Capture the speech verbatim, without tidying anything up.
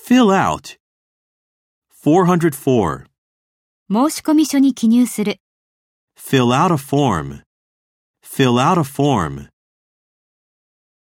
Fill out. four oh four. 申込書に記入する。 Fill out a form. Fill out a form.